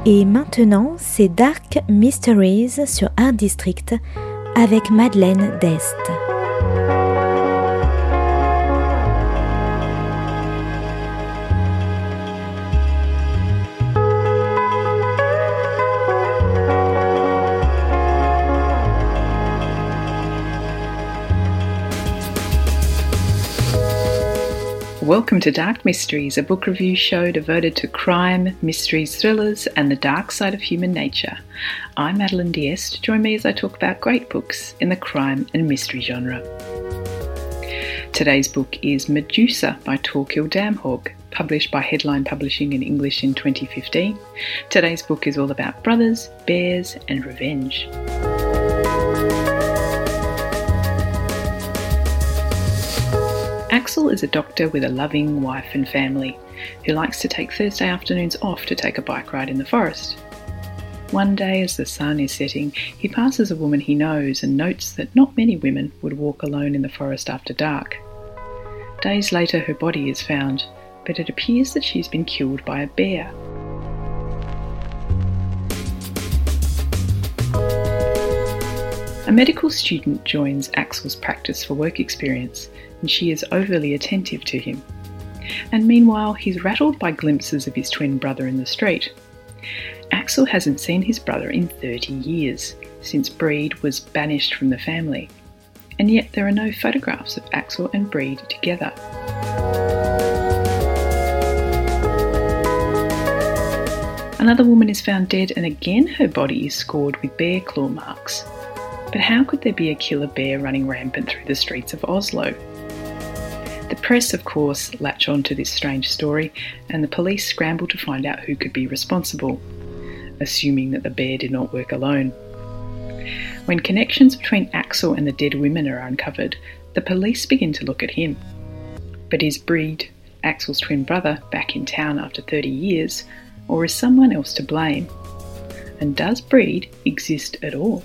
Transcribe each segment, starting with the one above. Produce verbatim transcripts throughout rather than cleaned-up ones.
Et maintenant, c'est Dark Mysteries sur Art District avec Madeleine Dest. Welcome to Dark Mysteries, a book review show devoted to crime, mysteries, thrillers, and the dark side of human nature. I'm Madeleine D'Este. Join me as I talk about great books in the crime and mystery genre. Today's book is Medusa by Torkil Damhaug, published by Headline Publishing in English in twenty fifteen. Today's book is all about brothers, bears, and revenge. Axel is a doctor with a loving wife and family who likes to take Thursday afternoons off to take a bike ride in the forest. One day as the sun is setting, he passes a woman he knows and notes that not many women would walk alone in the forest after dark. Days later her body is found, but it appears that she's been killed by a bear. A medical student joins Axel's practice for work experience, and she is overly attentive to him. And meanwhile, he's rattled by glimpses of his twin brother in the street. Axel hasn't seen his brother in thirty years, since Breed was banished from the family. And yet there are no photographs of Axel and Breed together. Another woman is found dead, and again her body is scored with bear claw marks. But how could there be a killer bear running rampant through the streets of Oslo? The press, of course, latch on to this strange story, and the police scramble to find out who could be responsible, assuming that the bear did not work alone. When connections between Axel and the dead women are uncovered, the police begin to look at him. But is Breed, Axel's twin brother, back in town after thirty years, or is someone else to blame? And does Breed exist at all?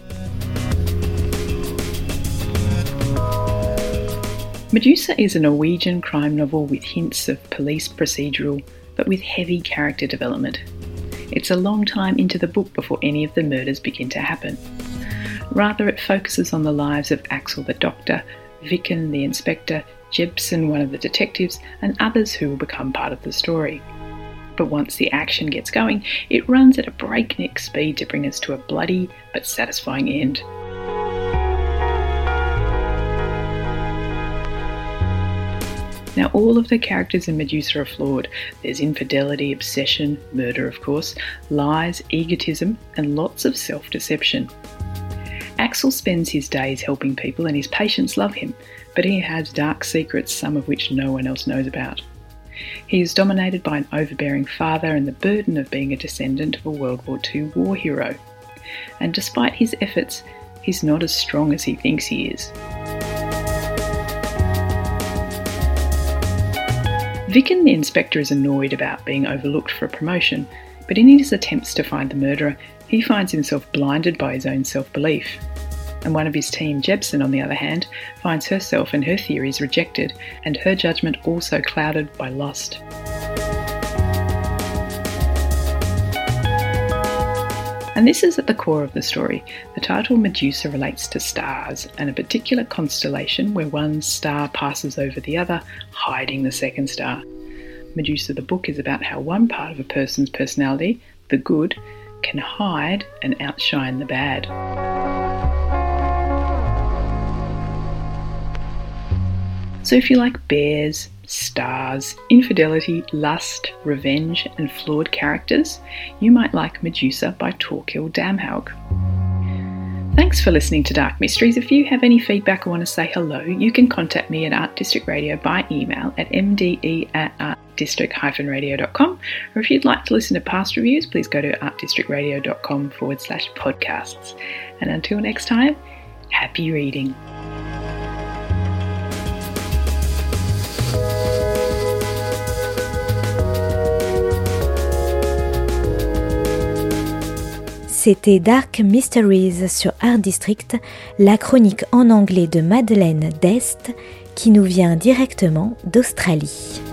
Medusa is a Norwegian crime novel with hints of police procedural, but with heavy character development. It's a long time into the book before any of the murders begin to happen. Rather, it focuses on the lives of Axel the doctor, Viken the inspector, Jebsen one of the detectives, and others who will become part of the story. But once the action gets going, it runs at a breakneck speed to bring us to a bloody but satisfying end. Now, all of the characters in Medusa are flawed. There's infidelity, obsession, murder of course, lies, egotism, and lots of self-deception. Axel spends his days helping people and his patients love him, but he has dark secrets, some of which no one else knows about. He is dominated by an overbearing father and the burden of being a descendant of a World War Two war hero. And despite his efforts, he's not as strong as he thinks he is. Viken the inspector is annoyed about being overlooked for a promotion, but in his attempts to find the murderer, he finds himself blinded by his own self-belief. And one of his team, Jebsen, on the other hand, finds herself and her theories rejected, and her judgment also clouded by lust. And this is at the core of the story. The title Medusa relates to stars and a particular constellation where one star passes over the other, hiding the second star. Medusa the book is about how one part of a person's personality, the good, can hide and outshine the bad. So if you like bears, stars, infidelity, lust, revenge, and flawed characters, you might like Medusa by Torkil Damhaug. Thanks for listening to Dark Mysteries. If you have any feedback or want to say hello, you can contact me at Art District Radio by email at m d e at art district dash radio dot com, or if you'd like to listen to past reviews, please go to artdistrictradio.com forward slash podcasts. And until next time, happy reading. C'était Dark Mysteries sur Art District, la chronique en anglais de Madeleine Dest qui nous vient directement d'Australie.